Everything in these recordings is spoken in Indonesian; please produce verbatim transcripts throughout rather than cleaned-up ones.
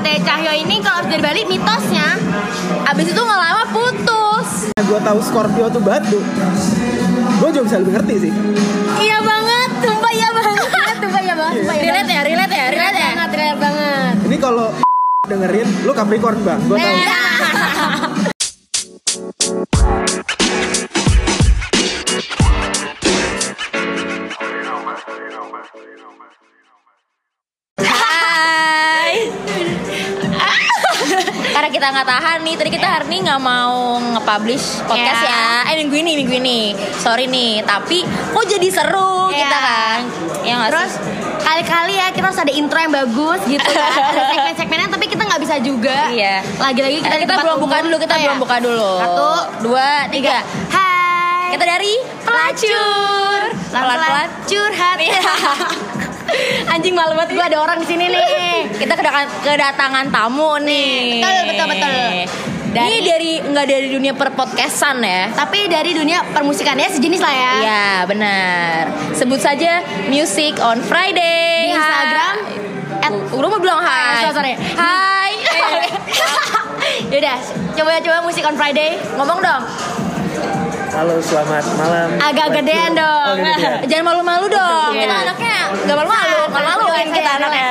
Teh Cahyo ini kalau dari Bali mitosnya abis itu nggak lama putus. Gue tahu Scorpio tuh batu. Gue juga bisa lebih ngerti sih. Iya banget, sumpah iya banget, sumpah iya banget, sumpah iya Relate ya, relate ya, relate ya. banget, relate banget. Ini kalau dengerin, lu Capricorn bang, gue tahu. Karena kita nggak tahan nih, tadi kita hari ini nggak mau nge-publish podcast Yeah. ya. Eh minggu ini, minggu ini, sorry nih. Tapi kok jadi seru Yeah. kita kan? Ya nggak Terus sih? kali-kali ya kita harus ada intro yang bagus gitu kan. Ada segmen-segmennya tapi kita nggak bisa juga. Iya. Lagi-lagi kita, Eh, di kita tempat belum buka umum. dulu, kita Oh, belum ya? buka dulu. Satu, dua, tiga. Hai. Kita dari Pelacur. Pelan-pelan curhat. Anjing malu banget gue ada orang di sini nih. Kita kedatangan, kedatangan tamu nih. Betul, betul, betul. Dari- Ini dari nggak dari dunia perpodcastan ya? Tapi dari dunia permusikannya sejenis lah ya. Iya benar. Sebut saja Music on Friday. Di Instagram At, udah mau bilang hai. Ah, sorry. Hai. Yaudah, coba-coba Musik on Friday. Ngomong dong. Halo, selamat malam. Agak gedean dong. Oh, gedean. Jangan malu-malu dong. Iya. Kita anaknya nggak malu-malu. Nggak maluin kita anaknya.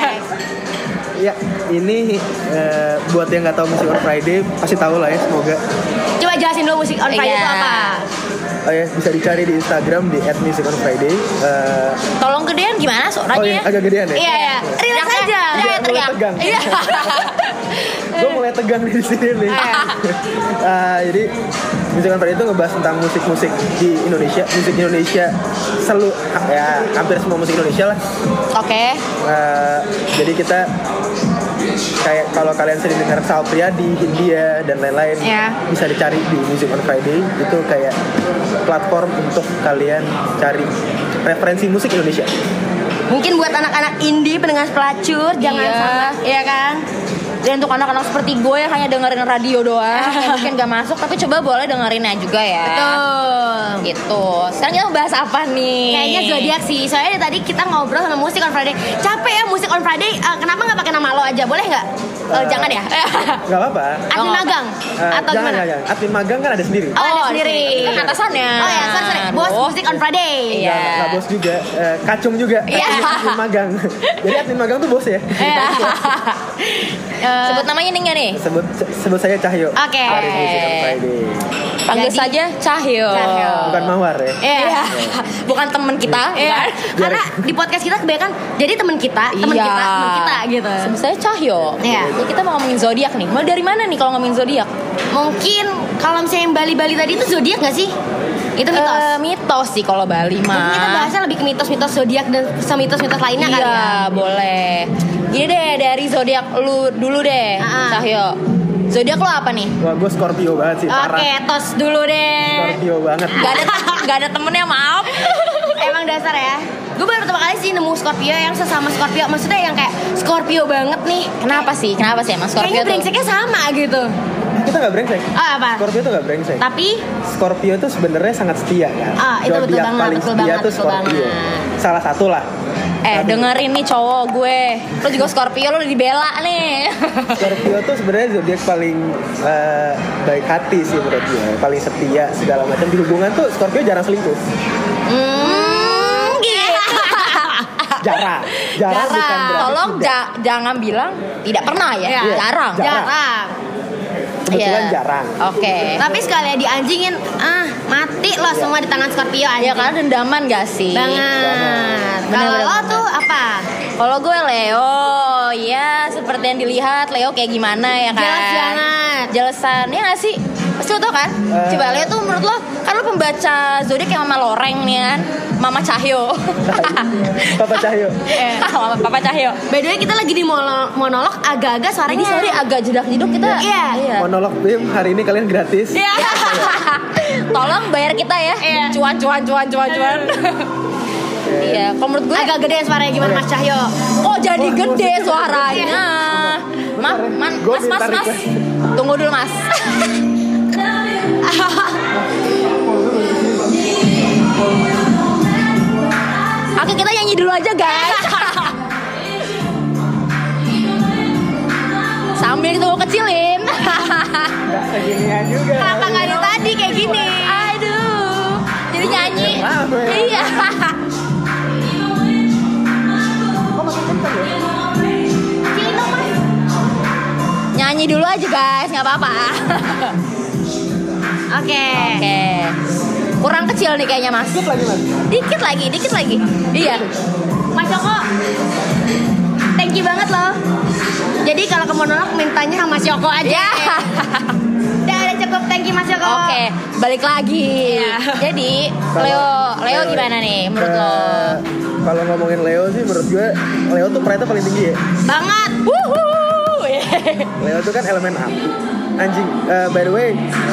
Ya, ini uh, buat yang nggak tahu Music on Friday pasti tahu lah ya, semoga. Coba jelasin dulu Musik on Friday Iya. itu apa? Oh ya, bisa dicari di Instagram di at music on friday. Uh, Tolong gedean gimana suaranya? oh ya, agak gedean ya. Iya, iya. Relax Teriak, aja. teriak, Mulai teriak. tegang. Iya. Gue mulai tegang di sini nih. Uh, jadi Music on Friday itu ngebahas tentang musik-musik di Indonesia, musik Indonesia selalu ya hampir semua musik Indonesia lah. Oke. Uh, jadi kita kayak kalau kalian sering dengar Sal Priadi, Hindia dan lain-lain, Ya. bisa dicari di Music on Friday. Itu kayak platform untuk kalian cari referensi musik Indonesia. Mungkin buat anak-anak indie pendengar pelacur jangan Iya. sama, iya kan? Dan untuk anak-anak seperti gue yang hanya dengerin radio doang, yang mungkin gak masuk, tapi coba boleh dengerinnya juga ya. Betul. Gitu. Sekarang kita bahas apa nih? Kayaknya zodiak sih. Soalnya dari tadi kita ngobrol sama Musik on Friday. Capek ya Musik on Friday. Uh, kenapa nggak pakai nama lo aja? Boleh nggak? Uh, Uh, jangan ya. Gak apa-apa. Admin Oh. magang Uh, atau jangan, gimana? jangan. Admin magang kan ada sendiri. Oh, ada sendiri. Itu kan atasannya. Oh ya, sorry, sorry. Bos Aduh. Musik on Friday. Iya. Nggak, nggak bos juga, uh, kacung juga. Iya. Admin magang. Jadi admin magang tuh bos ya. Iya. Eh, Sebut namanya nih nggak nih? Sebut sebut saya Cahyo. Oke. Dari Music on Friday. Panggil Jadi- saja Cahyo. Cahyo. Bukan Mawar ya. Iya. Bukan temen kita. Iya. kan? Karena di podcast kita kebanyakan jadi teman kita, teman Iya. kita, teman kita gitu. Sebut saya Cahyo. Iya. Jadi kita mau ngomongin zodiak nih. Mau dari mana nih kalau ngomongin zodiak? Mungkin kalau misalnya yang Bali-Bali tadi itu zodiak nggak sih? Itu mitos. Eh, mitos sih kalau Bali mah. Mungkin kita bahasnya lebih ke mitos-mitos zodiak dan mitos-mitos lainnya Iya, kali ya. boleh. Gini deh, dari zodiak lu dulu deh, Ah. Cahyo. Zodiak lo apa nih? Wah, gue Scorpio banget sih, parah. Oke, tos dulu deh. Scorpio banget. Gak ada gak ada temennya, maaf. Emang dasar ya. Gue baru pertama kali sih nemu Scorpio yang sesama Scorpio. Maksudnya yang kayak Scorpio banget nih. Kenapa sih? Kenapa sih emang Scorpio Kayaknya tuh? brengseknya sama gitu. Kita nggak brengsek. Oh apa? Scorpio tuh nggak brengsek. Tapi Scorpio tuh sebenarnya sangat setia kan. Ah, itu betul Zodiak banget, paling betul setia banget, tuh betul Scorpio. banget. Salah satu lah. Eh, Satu. dengerin nih cowok gue. Lo juga Scorpio, lo dibela nih. Scorpio tuh sebenarnya zodiak paling eh, baik hati sih menurut gue, paling setia segala macam di hubungan tuh Scorpio jarang selingkuh. hmm, gitu. Jarang, jarang, Jarang. bukan berarti Tolong tidak. ja- jangan bilang tidak pernah ya. Iya. Jarang. Jarang. Jarang. Kebetulan Iya. jarang. Oke. Tapi sekali dianjingin, ah mati lo semua di tangan Scorpio anjing. Ya karena dendaman gak sih? Banget. Bener, Kalau bener, lo bener. tuh apa? Kalau gue Leo, ya seperti yang dilihat Leo kayak gimana ya kan? Jelas banget. Jelasan, ya gak sih? Pasti lo tau kan? Eh. Coba Leo tuh menurut lo, kan lo pembaca zodiak kayak Mama Loreng nih kan? Mama Cahyo. Papa Cahyo. Eh, Mama Papa Cahyo. By the way kita lagi di monolog, monolog agak-agak suaranya. Ini sorry agak jedak-jeduk kita. Iya. Monolog Bim hari ini kalian gratis. Iya. Tolong bayar kita ya. Iya. Cuan cuan cuan cuan cuan. Iya, kalau menurut gue Agak gede suaranya gimana Mas Cahyo? kok jadi Wah, gede gua- suaranya. Ma, man, Gua mas, mas, minta mas. request. Tunggu dulu, Mas. Oke, kita nyanyi dulu aja, guys. Sambil kita mau kecilin. Nggak seginian juga. Kenapa nggak dari tadi kayak gini? Aduh. Jadi nyanyi. Lama ya. Iya. Kok makin kenceng ya? Cino mas. Nyanyi dulu aja guys, nggak apa-apa. Oke. Oke. Kurang kecil nih kayaknya mas. Dikit lagi mas. Dikit lagi, dikit lagi. Iya. Mas Yoko, thank you banget loh. Jadi kalau ke monolog mintanya sama Mas Yoko aja. Ya. Udah ada cukup, thank you Mas Yoko. Oke, balik lagi. Iya. Jadi Kalau- Leo, Leo Leo- gimana nih menurut Eh, lo? Kalau ngomongin Leo sih menurut gue Leo tuh pride paling tinggi ya. Banget. Wuhu. Leo tuh kan elemen api. Anjing. Eh, by the way,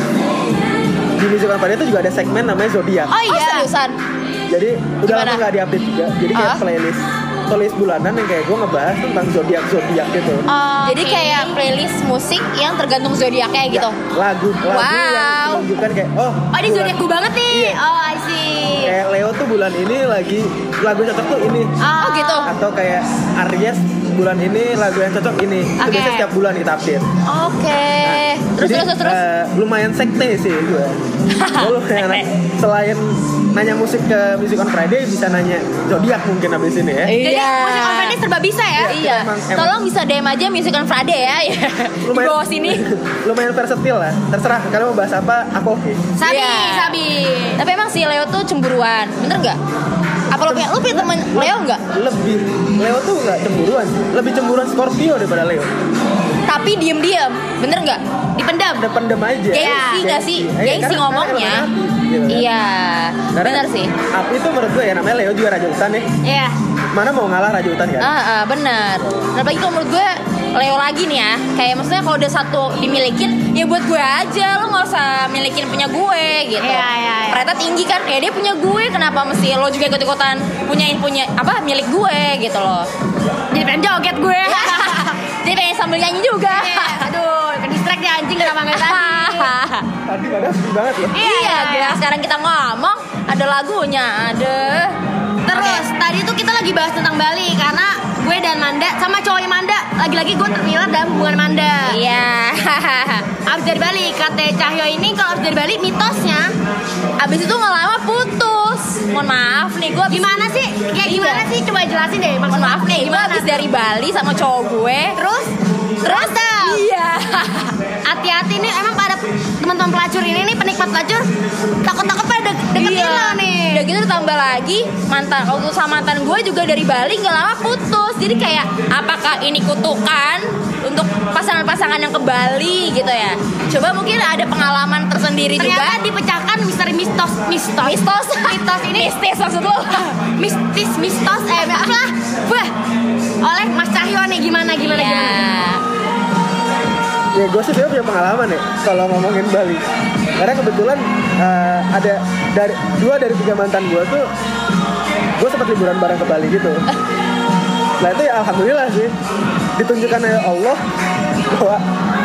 di Music on Friday itu juga ada segmen namanya zodiak. Oh Oh iya. seriusan? Jadi udah Gimana? lama nggak diupdate juga. Jadi kayak Ah? playlist playlist bulanan yang kayak gue ngebahas tentang zodiak zodiak gitu. Oh, Jadi oke. kayak playlist musik yang tergantung zodiaknya gitu. Ya, lagu lagu Wow. yang menunjukkan kayak oh. Oh ini bulan- zodiakku banget nih. Iya. Oh I see. Kayak Leo tuh bulan ini lagi lagu cocok tuh ini. Oh gitu. Atau kayak Aries bulan ini lagu yang cocok ini. Itu Oke. biasanya setiap bulan kita update. Oke. Terus Jadi, terus terus terus. eh, lumayan sekte sih gue. Gue lumayan selain nanya musik ke Music on Friday bisa nanya zodiak mungkin abis ini ya. Jadi Iya. musik on Friday serba bisa ya. Iya. Emang- emang- Tolong bisa D M aja Music on Friday ya. Di bawah sini. lumayan versatil lah. Terserah kalian mau bahas apa, aku oke. Sabi, Iya. sabi. Tapi emang si Leo tuh cemburuan, bener nggak? Apa lo punya, lo punya temen Leo nggak? Lebih Leo tuh nggak cemburuan, lebih cemburuan Scorpio daripada Leo. Tapi diem-diem, bener nggak? Dipendam. Udah pendem aja. Gengsi nggak sih? Eh, Gengsi karena- ngomongnya. karena elemen api, gitu kan. Iya, Karena bener sih. Api itu menurut gue ya namanya Leo juga raja hutan ya. Iya. Mana mau ngalah raja hutan kan? Ah, ah, bener. Nah, apalagi kalau menurut gue Leo lagi nih ya. Kayak maksudnya kalau udah satu dimilikin, ya buat gue aja. Lo nggak usah milikin punya gue gitu. Iya, iya, iya. Ternyata tinggi kan. Ya dia punya gue, kenapa mesti lo juga ikut-ikutan punyain punya apa milik gue gitu loh. Jadi pengen joget gue. Jadi pengen sambil nyanyi juga. Iya, aduh, ke distract deh anjing kenapa nggak tadi? Tadi padahal sedih banget loh. Iya, Iya, iya. sekarang kita ngomong ada lagunya, ada. Terus tadi tuh kita lagi bahas tentang Bali karena gue dan Manda sama cowoknya Manda lagi-lagi gue terlibat dalam hubungan Manda. Iya. Abis dari Bali, kata Cahyo ini kalau abis dari Bali mitosnya Abis itu nggak lama putus. Mohon maaf nih, gue gimana sih? Kayak gimana Iya. sih? Coba jelasin deh. Maksud Mohon maaf aku nih, kayak gue gimana? abis dari Bali sama cowok gue. Terus terus dah. Iya. Hati-hati nih emang pada teman-teman pelacur ini nih penikmat pelacur takut-takut pada de- deketin lo nih. Udah gitu ditambah lagi mantan waktu sama mantan gue juga dari Bali nggak lama putus. Jadi kayak apakah ini kutukan untuk pasangan-pasangan yang ke Bali gitu ya? Coba mungkin ada pengalaman tersendiri Ternyata juga. dipecahkan misteri mistos mistos Mistos, mistos ini mistis maksud lo? mistis mistos eh apa wah oleh Mas Cahyo nih gimana gimana Iya. gimana Ya gue sih sebenarnya punya pengalaman ya kalau ngomongin Bali. Karena kebetulan eh, ada dari dua dari tiga mantan gue tuh gue sempat liburan bareng ke Bali gitu. Nah itu ya alhamdulillah sih ditunjukkan oleh Allah bahwa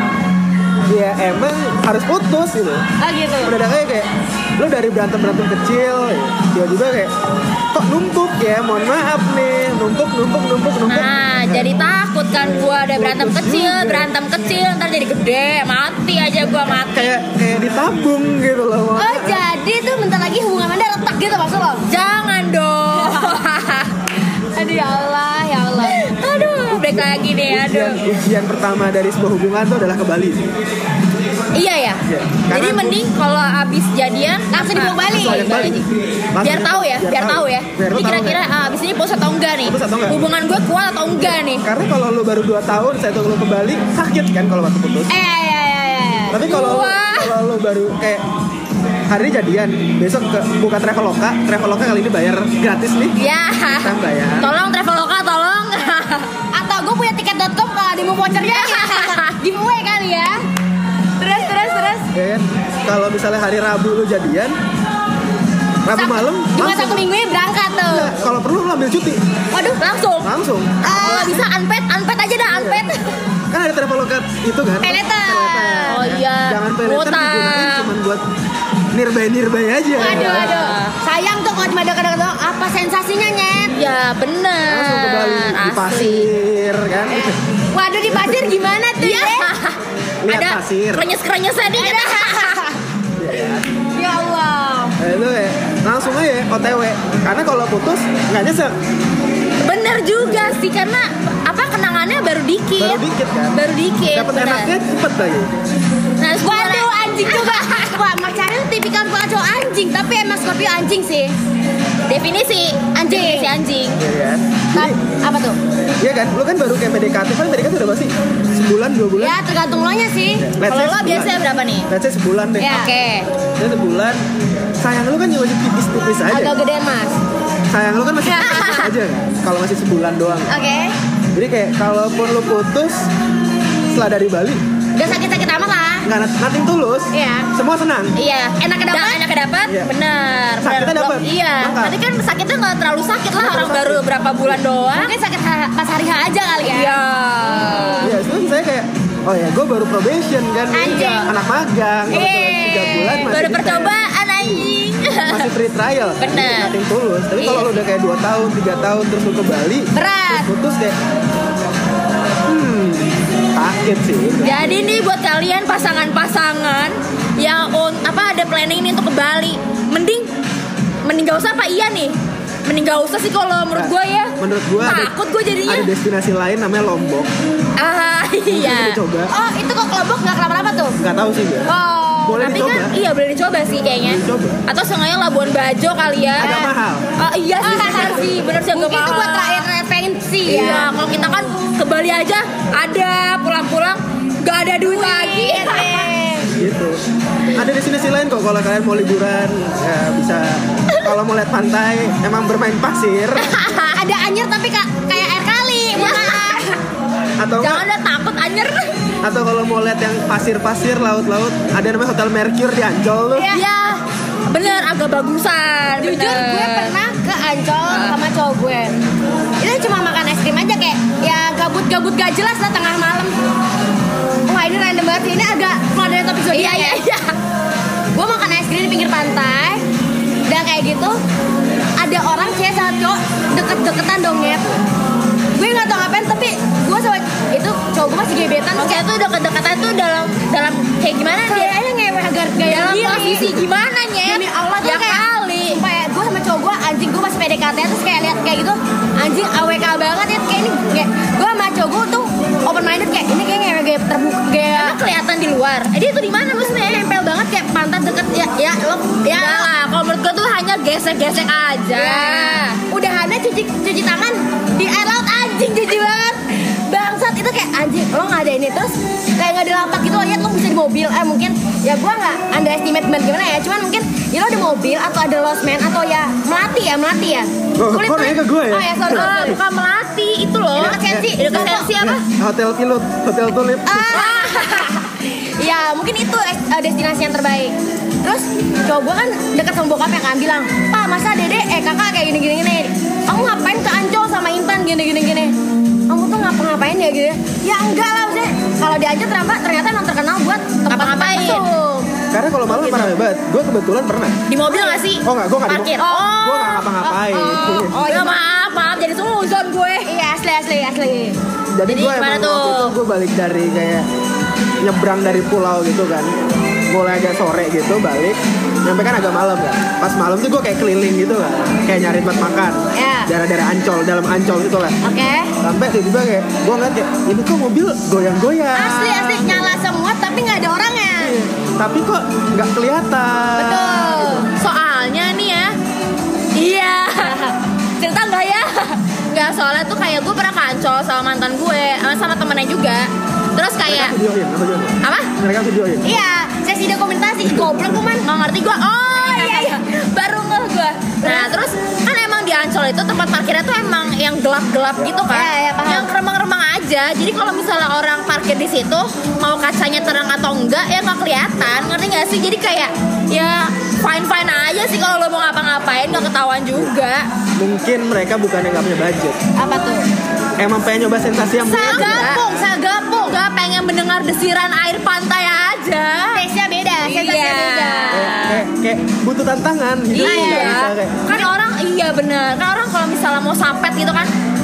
ya emang harus putus gitu. ah gitu Mendadak aja kayak lu dari berantem berantem kecil, ya, tiba-tiba kayak kok numpuk ya, mohon maaf nih, numpuk numpuk numpuk numpuk. Nah, jadi takut kan gue ada berantem Putus kecil, juga. berantem kecil ntar jadi gede, mati aja gue mati. Kayak kayak ditabung gitu loh. mohon oh maaf. jadi tuh bentar lagi hubungan Anda retak gitu maksud lo Jangan dong. aduh ya Allah ya Allah Aduh, break lagi nih, Ujian, aduh. ujian pertama dari sebuah hubungan itu adalah ke Bali. Iya ya. Iya. Jadi Karena mending kalau abis jadian Langsung dibawa ah, Bali. langsung Langsung Bali. Bali. Biar Langsung- tahu ya, biar biar tahu. tahu ya. Biar lu Ini tahu kira-kira ah, abis ini putus atau enggak nih? Putus atau enggak? Hubungan gue kuat atau enggak nih? Karena kalau lu baru dua tahun, saya tuh lu ke Bali sakit kan kalau waktu putus. eh ya ya ya ya Tapi kalau Wah. kalau lu baru kayak hari ini jadian, besok ke buka Traveloka, Traveloka kali ini bayar gratis nih. Ya. Kita bayar. Tolong Traveloka, tolong. atau gue punya tiket dot com kalau di mau vouchernya giveaway kali ya terus terus terus Ya kan? Kalau misalnya hari Rabu lu jadian, Rabu Sab- malam cuma langsung. satu minggu berangkat tuh Nah, kalau perlu lu ambil cuti, Waduh, langsung. langsung. Kalau bisa unpaid, unpaid aja dah, unpaid. Kan ada Traveloka itu kan? Pay later. Pay Oh iya. Jangan pay later Utang. digunain cuma buat nearby-nearby aja. aduh aduh sayang tuh kalau cuma deket-deket doang apa sensasinya nyet Ya bener. Langsung ke Bali di Asik. pasir kan. Waduh, di pasir gimana tuh ya? Lihat Ada pasir. krenyes-krenyesnya dikit. Iya. Ya Allah. Eh, itu ya langsung aja O T W. Karena kalau putus nggak nyesek. Bener juga sih, karena apa kenangannya baru dikit. Baru dikit kan. Baru dikit. Dapat bener. enaknya cepet lagi. Nah, Waduh, anjing juga. Wah, Mas Cahyo tipikal cowok anjing, tapi emang Scorpio anjing sih. definisi Anjing. definisi anjing. Iya kan. Tap, Jadi, apa tuh? iya kan. Lu kan baru kayak P D K T, kan P D K T udah pasti sebulan dua bulan. Ya, tergantung lo nya sih. Let's Kalau say lo sebulan. biasanya berapa nih? Let's say sebulan deh. Ya. Oke. Ya sebulan. Sayang lu kan juga masih tipis-tipis aja. Agak gedean, Mas. Sayang lu kan masih tipis aja kan. Kalau masih sebulan doang. Oke. Jadi kayak kalaupun lu putus setelah dari Bali, Udah sakit-sakit amat lah. nggak nothing tulus. Iya. Semua senang. Iya. Enak dapat? Da- enak dapat. Iya. Bener. Sakitnya Bener. dapat? Iya. Lengkap. Tapi kan sakitnya nggak terlalu sakit lah. Nggak Orang terlalu baru sakit. berapa bulan doang. Mungkin sakit ha- pas hari H aja kali ya. Iya. Iya, terus saya kayak oh ya, gue baru probation kan, Anjing. anak magang, kalau Eh, cuma tiga bulan masih Baru bisa. percobaan anjing. Masih free trial, Bener. nothing tulus. Tapi kalau Iya. lu udah kayak dua tahun, tiga tahun terus lu ke Bali, Berat. terus putus kayak, hmm, sakit sih. Jadi nih buat kalian pasangan-pasangan yang on, apa ada planning nih untuk ke Bali, mending mending gak usah apa iya nih. Mending gak usah sih kalau menurut Nah, gue ya. menurut gue ada- takut gue jadinya. Ada destinasi lain namanya Lombok. Ah iya. Boleh dicoba. Oh, itu kok kelompok nggak kenapa-napa tuh? Nggak tahu sih gue. Oh. Boleh Tapi dicoba. kan iya boleh dicoba sih kayaknya. Boleh dicoba. Atau sengaja Labuan Bajo kali ya. Agak mahal. Oh iya sih benar sih, benar sih agak Mungkin itu mahal. buat terakhir referensi Iya, ya. kalau kita kan ke Bali aja ada pulang-pulang gak ada duit lagi. Gitu. Ada destinasi lain kok kalau kalian mau liburan, ya bisa. Kalau mau lihat pantai, emang bermain pasir Ada anjir tapi kak kayak air kali. Maaf. atau Jangan enggak, ada takut anjir. atau kalau mau lihat yang pasir-pasir, laut-laut, ada namanya Hotel Mercure di Ancol tuh. Iya. Iya. Bener agak bagusan. Jujur bener. gue pernah ke Ancol sama cowok gue. Itu cuma makan es krim aja kayak ya gabut-gabut gak jelas lah tengah malam. Wah ini random banget sih. Ini agak keluar dari topik zodiak Iya iya ya. iya. Gue makan es krim di pinggir pantai. Dan kayak gitu ada orang cewek sama cowok deket-deketan donget. Gue nggak tau ngapain tapi gue sama itu cowok gue masih gebetan. Terus Maksudnya tuh deket-deketan tuh dalam dalam kayak gimana dia? kayaknya ngewe agar gaya Dalam gini. posisi gimana nyet? Demi Allah tuh ya kayak kali. Sumpah ya, gue sama cowok gue anjing gue masih P D K T terus kayak lihat kayak gitu anjing A W K banget ya kayak ini kayak gue sama cowok gue tuh open minded kayak ini kayak ngewe gaya terbuka gaya Emang kelihatan di luar. Eh dia tuh di mana maksudnya? nempel banget kayak pantat deket ya ya lo ya Enggak lah, kalau menurut gue tuh hanya gesek-gesek aja. ya udahannya cuci cuci tangan di air laut anjing jijik banget bangsat itu kayak anjing lo nggak ada ini terus kayak nggak dilapak gitu lihat lo bisa di mobil eh mungkin ya gue nggak underestimate banget gimana ya cuman mungkin ya lo di mobil atau ada lost man atau ya melati ya melati ya Oh, kok nanya ke gue ya? oh ya sorry, Ah, sorry. bukan melati itu loh. Dekat Sensi. Dekat Sensi apa? Hotel Pilot, Hotel Tulip. Ah, ya mungkin itu eh, destinasi yang terbaik. Terus cowok gue kan deket sama bokapnya kan bilang, Pak masa dede eh kakak kayak gini gini gini. Kamu ngapain ke Ancol sama Intan gini gini gini? Kamu tuh ngapa-ngapain ya gitu? Ya enggak lah maksudnya. Kalau di Ancol ternyata ternyata emang terkenal buat tempat Ngapa-ngapain? mesum. Karena kalau malam pernah banget. Gue kebetulan pernah. Di mobil nggak sih? Oh nggak, gue nggak di Parkir. mobil. Oh. Gue nggak ngapa-ngapain. Oh, Oh ya maaf, maaf jadi suzon gue. Iya asli asli asli. Jadi, Jadi gue gimana emang tuh? waktu itu gue balik dari kayak nyebrang dari pulau gitu kan. Mulai agak sore gitu balik. Nyampe kan agak malam kan. Pas malam tuh gue kayak keliling gitu kan. Kayak nyari tempat makan. Ya. Daerah-daerah Ancol, dalam Ancol gitu lah. Oke. Sampai tiba-tiba kayak gue ngeliat kayak ini kok mobil goyang-goyang. Asli asli nyala semua tapi nggak ada orangnya. Iya. Tapi kok nggak kelihatan. Betul. Soalnya nih ya. Iya. Cerita nggak ya? Nggak, soalnya tuh kayak gue pernah kancol sama mantan gue, sama sama temennya juga. Terus kayak Mereka videoin, apa videoin? apa? Mereka videoin. Iya, sesi dokumentasi goblok gue man. Nggak ngerti gue. Oh iya iya. Baru ngeh gue. Nah terus kan emang di Ancol itu tempat parkirnya tuh emang yang gelap-gelap gitu kan. Iya, iya, paham. Yang remang-remang aja. Jadi kalau misalnya orang parkir di situ mau kacanya terang atau enggak ya nggak kelihatan. Ngerti nggak sih? Jadi kayak ya fine fine aja sih kalau lo mau ngapa-ngapain nggak ketahuan juga. Mungkin mereka bukannya nggak punya budget. Apa tuh? Emang pengen nyoba sensasi yang beda. Sagapung, sagapung. Gak pengen mendengar desiran air pantai aja. Taste-nya beda, sensasinya Iya. beda. Kayak, kayak, kayak butuh tantangan gitu. Nggak Iya, bisa kayak kan orang iya bener. Kan orang kalau misalnya mau sapet gitu kan,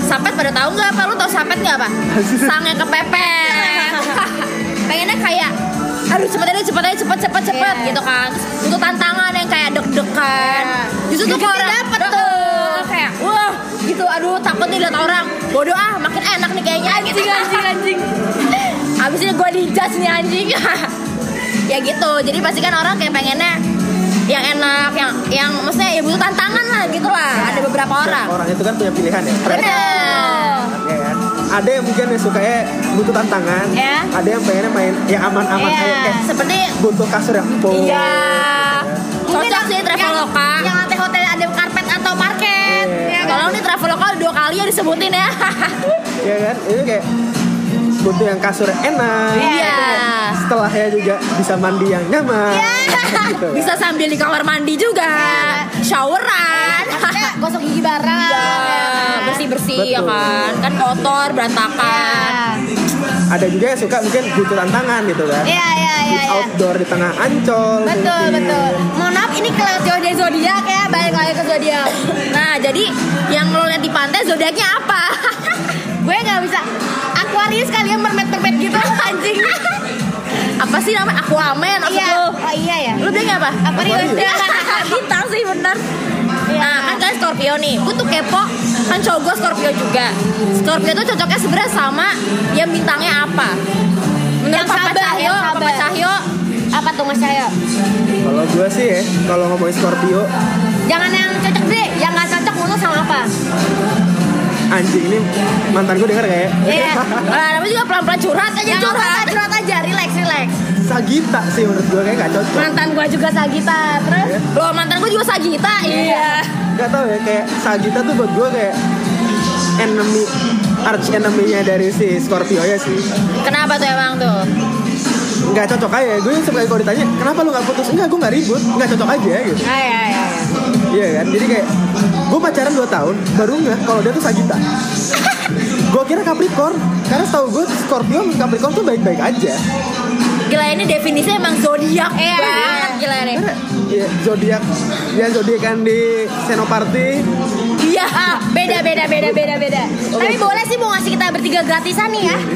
Sapet pada tahu nggak apa? Lu tahu sapet nggak apa? Sangnya kepepet. Pengennya kayak aduh cepet aja cepet aja cepet cepet cepet Yeah. gitu kan. Untuk tantangan yang kayak deg-degan. Yeah. Justru tuh kalau orang dapet tuh kayak wah gitu aduh takut nih lihat orang. Bodoh ah makin enak nih kayaknya. Anjing anjing anjing. Abis ini gue dijudge nih anjing. Ya gitu. Jadi pasti kan orang kayak pengennya yang enak, yang yang maksudnya ya butuh tantangan lah gitu lah. Ada beberapa orang. Orang itu kan punya pilihan ya. Bener. Ya kan? Ada yang mungkin yang sukanya butuh tantangan, Ya. ada yang pengennya main yang aman-aman Iya. kayak kayak Seperti butuh kasur yang empuk. iya. Mungkin Cocok sih Traveloka. Yang lantai hotel ada karpet atau parket. Iya. Ya kan? Kalau nih Traveloka dua kali ya disebutin ya. Iya kan? Itu kayak butuh yang kasur yang enak. Iya. Setelahnya juga bisa mandi yang nyaman. Gitu. Bisa sambil di kamar mandi juga. Showeran. Maksudnya gosok gigi bareng. Iya, bersih-bersih ya Betul. kan. Kan kotor, berantakan. Ada juga yang suka mungkin butuh tantangan gitu kan. Iya iya Di iya. iya. outdoor di tengah Ancol. Betul mungkin. betul. Mohon maaf ini kelewat jauh dari zodiak ya. Balik lagi ke zodiak. Nah, jadi yang lo lihat di pantai zodiaknya apa? Gue nggak bisa. Aquarius kalian mermaid-mermaid gitu anjing. Apa sih namanya? Aquaman maksud Iya. lo? Oh iya ya. Lu bilang apa? Aquarius. Bintang sih bener. Iya. Nah kan kalian Scorpio nih. Gue tuh kepo. Kan cowok gue Scorpio juga. Scorpio tuh cocoknya sebenarnya sama yang bintangnya apa? Menurut Yang Papa sabar, Cahyo, yang Papa sabar. Cahyo. Apa tuh Mas Cahyo? Kalau gue sih ya, kalau ngomongin Scorpio, Jangan yang cocok deh. Yang nggak cocok mulu sama apa? anjing ini mantan gue denger kayak Iya. Nah, namanya juga pelan-pelan curhat aja Jangan curhat. curhat, curhat aja. Relax, relax. Sagita sih menurut gue kayak gak cocok. Mantan gue juga Sagita. Terus? Ya. Loh mantan gue juga Sagita. Iya. Gak tau ya, kayak Sagita tuh buat gue kayak enemy, arch enemy-nya dari si Scorpio ya sih. Kenapa tuh emang tuh? Gak cocok aja, gue suka kalau ditanya kenapa lu gak putus? Enggak, gue gak ribut, gak cocok aja gitu. Ah, iya, iya, iya. Iya kan, jadi kayak gue pacaran dua tahun baru nggak kalau dia tuh Sagita. Gue kira Capricorn, karena setahu gue Scorpio sama Capricorn tuh baik-baik aja. Gila ini definisinya emang zodiak Iya. banget gila nih. Iya, zodiak, ya zodiak kan di Senoparty. Iya. Ah, beda, beda, beda, beda, beda. Tapi boleh sih mau ngasih kita bertiga gratisan nih ya.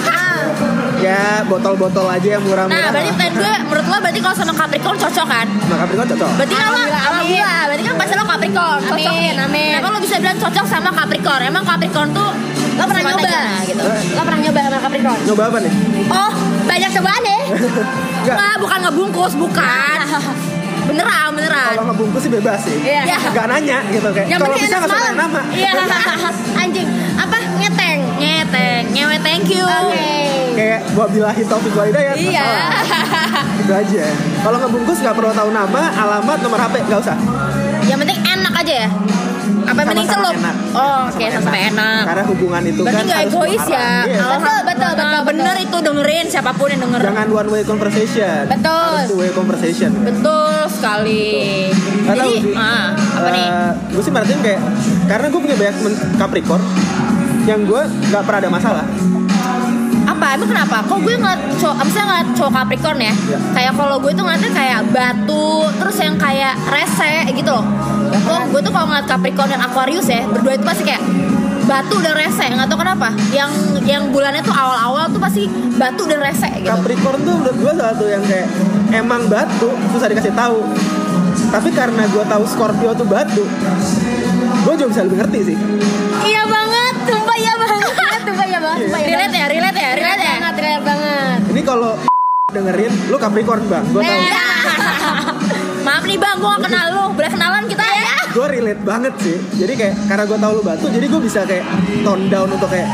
Ya botol-botol aja yang murah-murah. Nah berarti lah. pertanyaan gue menurut lo berarti kalau sama Capricorn cocok kan? Nah, Capricorn cocok. Berarti kan lo Alhamdulillah, amin. alhamdulillah, berarti kan pasti lo Capricorn, cocokin. Amin, amin. Kenapa lo bisa bilang cocok sama Capricorn? Emang Capricorn tuh Lo pernah semata nyoba? gimana gitu? Lo pernah nyoba sama Capricorn? Nyoba apa nih? Oh, banyak cobaan deh. Enggak. Wah, bukan ngebungkus, bukan. Beneran, beneran. Kalau ngebungkus sih bebas sih. Iya. Gak nanya gitu kayak. Yang Kalau penting bisa enak nggak usah semalam. nanya nama. Iya. Anjing, apa? Ngeteng. Nyetek, nyewe thank you. Oke. Kayak buat bilahi taufik walhidayah. Iya. Itu aja. Kalau ngebungkus nggak perlu tahu nama, alamat, nomor H P, nggak usah. Yang penting enak aja ya. Apa yang penting Sama-sama celup? enak. Oh, oke, Sama-sama sama enak. Karena hubungan itu Berarti kan nggak harus egois muarah. ya. Iya. Betul, betul, betul, Nah, betul. bener itu dengerin siapapun yang denger. Jangan one way conversation. Betul. Harus two way conversation. Betul sekali. Gak tahu Jadi, sih. ah, apa nih? Gue sih merhatiin kayak karena gue punya banyak temen Capricorn yang gue nggak pernah ada masalah. Apa? Emang kenapa? Kok gue ngeliat cowok, misalnya ngeliat cowok Capricorn ya, Ya. kayak kalau gue tuh ngeliatnya kayak batu, terus yang kayak rese gitu loh. Kok gue tuh kalau ngeliat Capricorn dan Aquarius ya, berdua itu pasti kayak batu dan rese, nggak tahu kenapa. Yang yang bulannya tuh awal-awal tuh pasti batu dan rese gitu. Capricorn tuh menurut gue salah satu yang kayak emang batu susah dikasih tahu. Tapi karena gue tahu Scorpio tuh batu, gue juga bisa lebih ngerti sih. Iya banget, sumpah iya banget. Sumpah iya banget, sumpah iya Relate banget. ya, relate ya, relate ya. Banget, relate banget. Ini kalau dengerin, lu Capricorn bang, gue tahu. Eh. Maaf nih bang, gue gak kenal lu. Boleh kenalan kita ya? Gue relate banget sih. Jadi kayak karena gue tahu lu batu, jadi gue bisa kayak tone down untuk kayak,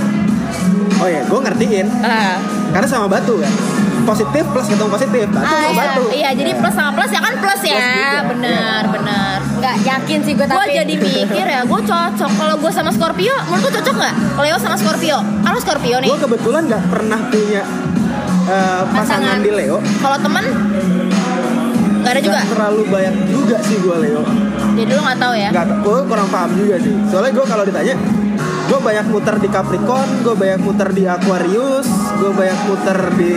oh ya, gue ngertiin. Ah. Karena sama batu kan, positif plus ketemu positif, batu Ah, sama iya. batu. Iya, jadi plus sama plus ya kan plus ya. Plus juga. Bener, bener. Nggak yakin sih gue Gue tapi. jadi mikir ya, gue cocok. Kalau gue sama Scorpio, menurut gue cocok nggak? Leo sama Scorpio. Kalau Scorpio nih, Gue kebetulan nggak pernah punya uh, pasangan Pasangan. di Leo. kalau temen nggak ada juga. Nggak terlalu banyak juga sih gue Leo. Jadi lu nggak tahu ya? Nggak, gue kurang paham juga sih. Soalnya gue kalau ditanya, gue banyak muter di Capricorn, gue banyak muter di Aquarius, gue banyak muter di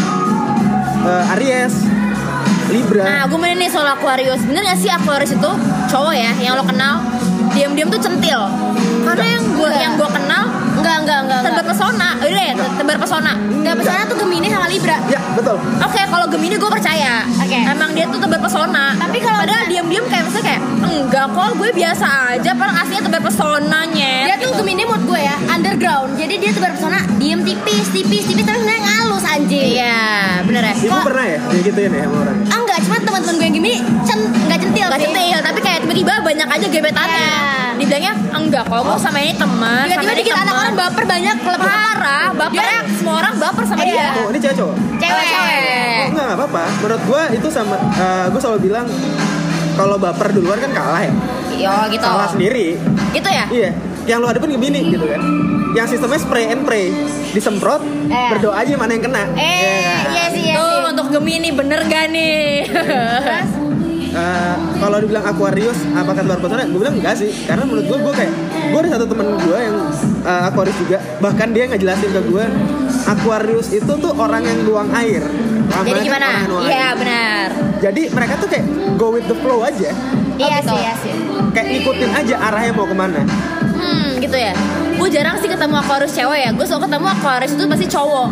uh, Aries, Libra. Nah, gue main nih soal Aquarius. Bener gak sih Aquarius itu cowok ya yang lo kenal diam-diam tuh centil? Karena yang gue yang gue kenal Enggak, enggak, enggak. tebar pesona. Udah ya, tebar pesona. Enggak, pesona tuh Gemini sama Libra. Ya betul. Oke, kalau Gemini gue percaya. Oke. Emang dia tuh tebar pesona. Tapi kalau padahal dia- diam-diam kayak maksudnya kayak enggak kok, gue biasa aja. Padahal aslinya tebar pesonanya. Dia tuh Gemini mood gue ya, underground. Jadi dia tebar pesona, diem tipis, tipis, tipis, tapi sebenarnya ngalus anjing. Iya, bener ya. Ibu Kok- pernah ya digituin ya sama orang? Ah, enggak, cuma teman-teman gue yang Gemini cen, enggak centil Gak sih. centil, tapi kayak tiba-tiba banyak aja gebetannya. Iya. Dibilangnya enggak kok, gue sama ini teman. Tiba-tiba sama ini dikit anak teman." orang baper banyak, lebih Parah, bapernya semua orang baper sama Iya. dia. Oh ini cewek cowok? cewek. Cewek. Oh enggak, enggak apa-apa. Menurut gue itu sama, uh, gue selalu bilang kalau baper duluan kan kalah ya. Yo gitu. Salah sendiri. Gitu ya? Iya. Yang lu hadapin Gemini gitu kan. Yang sistemnya spray and pray. Disemprot, Eh. berdoa aja mana yang kena. Eh, Iya. iya sih, iya Tuh sih. untuk Gemini bener gak nih? Terus, Uh, kalau dibilang Aquarius apakah luar pesona? Gue bilang enggak sih, karena menurut gue gue kayak gue ada satu temen gue yang uh, Aquarius juga, bahkan dia ngejelasin ke gue Aquarius itu tuh orang yang luang air. Lama Jadi kan gimana? orang yang luang Iya air. benar. Jadi mereka tuh kayak go with the flow aja, iya gitu. sih, iya sih. kayak ikutin aja arahnya mau kemana. Hmm gitu ya. Gue jarang sih ketemu Aquarius cewek ya. Gue selalu ketemu Aquarius itu pasti cowok.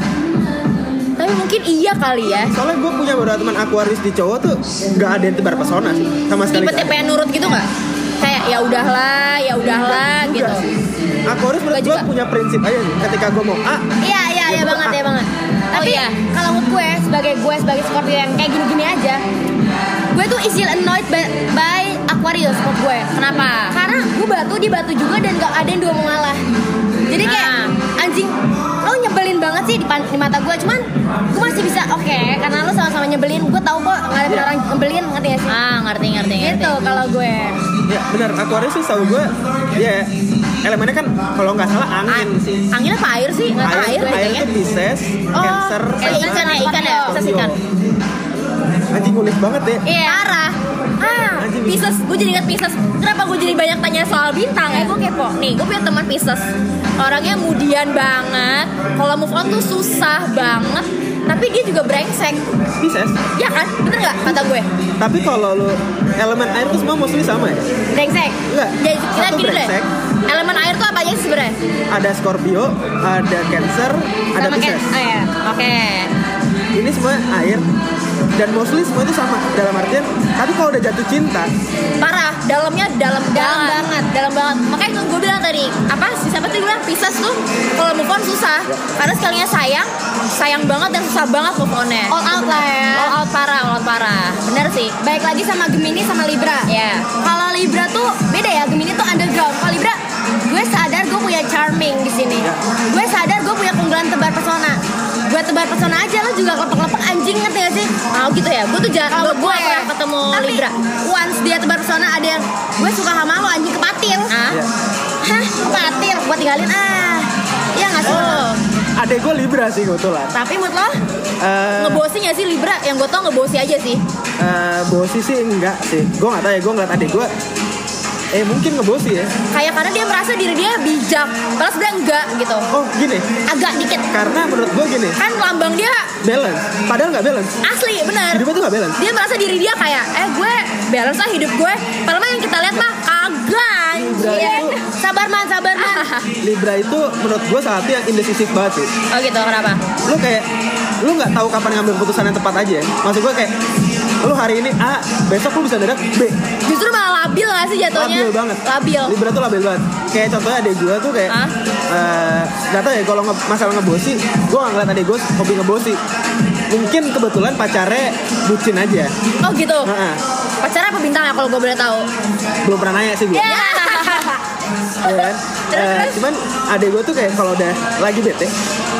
Tapi mungkin iya kali ya. Soalnya gue punya beberapa teman Aquarius di cowok tuh nggak ada yang tebar pesona sih, sama sekali. Tipe-tipe nggak ada. yang nurut gitu nggak? Kayak ya udahlah, ya udahlah Enggak gitu. sih. Aquarius menurut Enggak gue juga. punya prinsip aja nih. Ketika gue mau A, Iya, iya, iya Ya, banget, betul. ya banget. Tapi iya. kalau mood gue sebagai gue sebagai Scorpio yang kayak gini-gini aja, gue tuh easily annoyed by, by Aquarius mood gue. Kenapa? Karena gue batu, dia batu juga dan gak ada yang dua mau ngalah. Jadi kayak Ah. anjing, lo nyebelin banget sih di, pan- di mata gue. Cuman gue masih bisa oke, karena lo sama-sama nyebelin. Gue tahu kok ngadepin Iya. orang nyebelin, ngerti gak sih? Ah ngerti ngerti ngerti. Gitu kalau gue. ya benar Aquarius sih tahu gue, ya elemennya kan kalau nggak salah angin Ah, sih. Angin apa air sih? Nggak tahu Air, air air kayaknya. itu Pisces, Oh, Cancer, Kayak sama ikan ya, ikan ya, Pisces ikan. Anjing ngulik banget ya. Iya. Parah. Ah, Anjing. Pisces. Gue jadi ingat Pisces. Kenapa gue jadi banyak tanya soal bintang ya? Gue kepo. Nih, gue punya teman Pisces. Orangnya mudian banget. Kalau move on tuh susah banget. Tapi dia juga brengsek. Pisces. Ya kan? Bener nggak kata gue? Tapi kalau lu elemen air tuh semua mostly sama ya? Brengsek. Enggak. Jadi kita Satu gini deh. brengsek, Elemen air tuh apa aja sih sebenarnya? ada Scorpio, ada Cancer, ada Sama Pisces. kayak, oh ya. Oke. Ini semua air dan mostly semua itu sama dalam artian. Tapi kalau udah jatuh cinta, Parah, dalamnya dalam Dalam banget. banget. dalam banget. Makanya tuh gue bilang tadi, apa sih siapa tuh bilang Pisces tuh kalau move on susah. Karena sekalinya sayang, sayang banget dan susah banget move on-nya. All out lah ya. All out parah, all out parah. Bener sih. Baik lagi sama Gemini sama Libra. Ya. Kalau Libra tuh beda ya, Gemini tuh underground. Kalau Libra, gue sadar gue punya charming di sini. Gue sadar gue punya keunggulan tebar pesona. Gue tebar pesona aja, lo juga kelepek-kelepek anjing, ngerti gak sih? Oh gitu ya. Gue tuh jarang, Kalau gue gak pernah ketemu tapi Libra. once dia tebar pesona ada yang gue suka sama lo anjing kepatil. Ah. ya. Hah, kepatil? Gue tinggalin ah. Iya gak sih? Oh. Adek gue Libra sih kebetulan. Tapi mood lo? Eh, Ngebosi gak sih Libra? Yang gue tau ngebosi aja sih. eh, bosi sih enggak sih. Gue nggak tahu ya. Gue ngeliat adek gue, eh mungkin ngebosi ya. Kayak karena dia merasa diri dia bijak. Padahal sebenarnya enggak gitu. Oh gini, Agak dikit. karena menurut gue gini, Kan lambang dia balance. Padahal nggak balance. asli, bener. Hidupnya tuh nggak balance. Dia merasa diri dia kayak, eh gue balance lah hidup gue. Padahal mah yang kita lihat mah kagak. Libra Iya. itu, Sabar man, sabar man. Libra itu menurut gue salah satu yang indecisif banget sih. Oh gitu, kenapa? Lu kayak, lu nggak tahu kapan ngambil keputusan yang tepat aja. Maksud gue kayak, lu hari ini A, besok lu bisa dadak B. Justru malah labil gak sih jatuhnya? Labil banget. Labil. Libra tuh labil banget. Kayak contohnya adek gue tuh kayak, Hah? eh, nggak tahu ya kalau nge- masalah ngebosi, gue nggak ngeliat adek gue hobi ngebosi. Mungkin kebetulan pacarnya bucin aja. Oh gitu. Heeh. Pacarnya apa bintangnya kalau gue boleh tahu? Belum pernah nanya sih gue. Ya. Ya kan? Eh, cuman adek gue tuh kayak kalau udah lagi bete,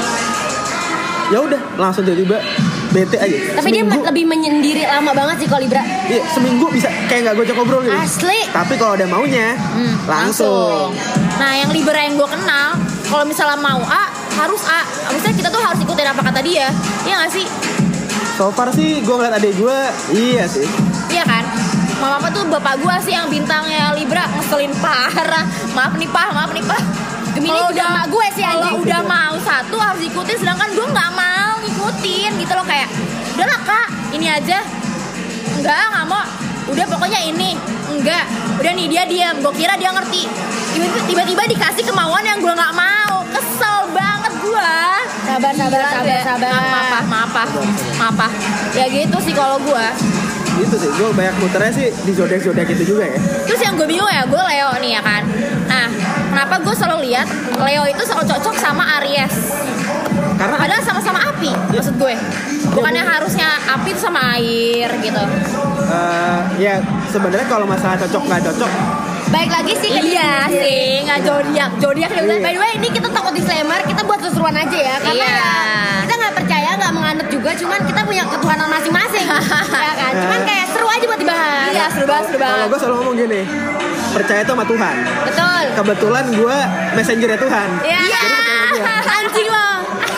ya udah langsung tiba-tiba bete aja. Tapi dia Seminggu- lebih menyendiri lama banget sih kalau Libra. Iya, seminggu bisa kayak nggak gojek ngobrol gitu. Asli. Tapi kalau ada maunya, Hmm, langsung. Nah, yang Libra yang gue kenal, kalau misalnya mau A, harus A. Maksudnya kita tuh harus ikutin apa kata dia. Iya gak sih? So far sih gue ngeliat adek gue, iya sih. Iya kan? Mama apa tuh bapak gue sih yang bintangnya Libra ngeselin parah. Maaf nih Pak, maaf nih Pak. Gemini Kalau juga emak gue sih, Kalau anjing. udah mau satu harus ikutin, sedangkan gue nggak mau ngikutin gitu loh, kayak udahlah Kak, ini aja. Enggak, nggak mau. udah pokoknya ini enggak, udah nih dia diam, gue kira dia ngerti, tiba-tiba, tiba-tiba dikasih kemauan yang gue nggak mau, kesel banget gue. Sabar, sabar, sabar, sabar. Maaf, maaf, maaf, maaf, ya gitu sih kalau gue. Itu sih, gue banyak muternya sih di zodiak-zodiak itu juga ya. Terus yang gue bingung ya, gue Leo nih ya kan. Nah, kenapa gue selalu lihat Leo itu selalu cocok sama Aries? Karena Padahal sama-sama api, maksud gue. Bukannya harusnya api itu sama air gitu. uh, ya sebenarnya kalau masalah cocok nggak cocok, Baik lagi sih ke Iya sih, nggak zodiak, zodiak ya udah. By the way, ini kita takut disclaimer, kita buat seruan aja ya. Karena Iya. ya, kita nggak percaya, nggak menganut juga, cuman kita punya ketuhanan masing-masing, ya kan? Cuman kayak seru aja buat dibahas. Iya, seru banget, seru kalau banget. gue selalu ngomong gini, percaya itu sama Tuhan. Betul. Kebetulan gue messengernya Tuhan. Iya. Jadi percaya sama Tuhan. Anjing lo.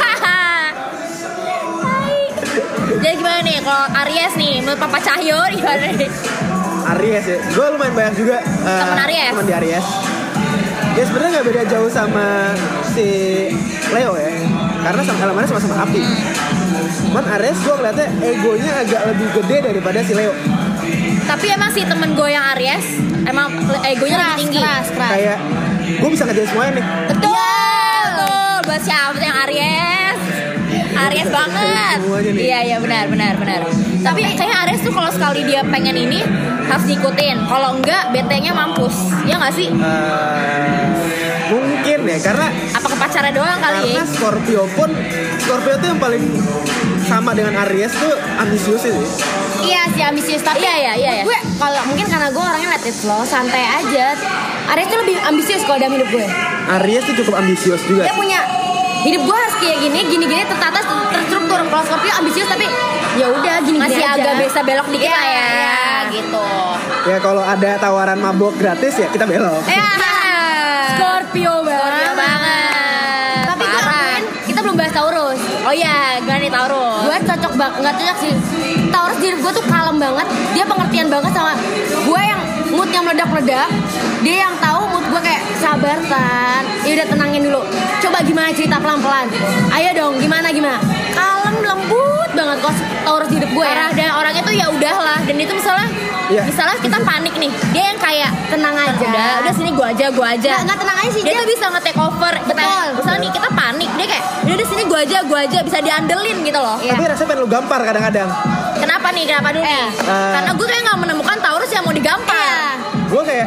Jadi gimana nih kalau Aries nih, menurut Papa Cahyo gimana nih? Aries ya, gue lumayan banyak juga uh, Temen Aries? temen di Aries. Ya sebenarnya nggak beda jauh sama si Leo ya, karena sama elemennya sama-sama api. Cuman Aries gue ngeliatnya egonya agak lebih gede daripada si Leo. Tapi emang sih temen gue yang Aries, emang egonya lebih tinggi. Keras, keras. Kayak gue bisa ngerjain semuanya nih. Betul. Betul. Buat siapa tuh yang Aries? Aries banget. Semuanya nih. Iya iya benar benar benar. Tapi kayaknya Aries tuh kalau sekali dia pengen ini harus diikutin. Kalau enggak B T-nya mampus. Ya nggak sih? Uh, mungkin ya, karena Apa ke pacarnya doang kali karena ya? Scorpio pun Scorpio tuh yang paling sama dengan Aries tuh ambisius sih. Iya sih ambisius, tapi Iya, iya, iya, iya. gue kalau mungkin karena gue orangnya let it flow, santai aja. Aries tuh lebih ambisius kalau dalam hidup gue. Aries tuh cukup ambisius juga. Dia punya hidup gue harus kayak gini, gini-gini tertata, terstruktur. Kalau Scorpio ambisius tapi ya udah gini-gini Masih aja. agak bisa belok dikit Iya, lah ya, iya. gitu. Ya kalau ada tawaran mabok gratis ya kita belok. Ya, Scorpio banget. Scorpio banget. Tapi gue Parah. akuin kita belum bahas Taurus. Oh iya, gimana nih Taurus? Gue cocok banget, nggak cocok sih. Taurus diri gue tuh kalem banget. Dia pengertian banget sama gue yang moodnya meledak-meledak. Dia yang tahu mood gue kayak sabar Tan. Ya udah tenangin dulu. Coba gimana cerita pelan-pelan. Ayo dong, gimana gimana. Kalem lembut banget kok Taurus di hidup gue ya. Parah, dan orangnya tuh ya udahlah. Dan itu misalnya, Iya. misalnya kita panik nih, dia yang kayak Tenang aja. udah, udah sini gua aja, gua aja. Nggak, nggak tenang aja sih Dia dia. tuh bisa nge-take over. Kita, Betul. misalnya nih kita panik, dia kayak udah di sini gua aja, gua aja, bisa diandelin gitu loh. Iya. Tapi rasanya pengen lu gampar kadang-kadang. Kenapa nih? Kenapa dulu nih? Eh. Eh. Karena gue tuh yang nggak menemukan Taurus yang mau digampar. Gue kayak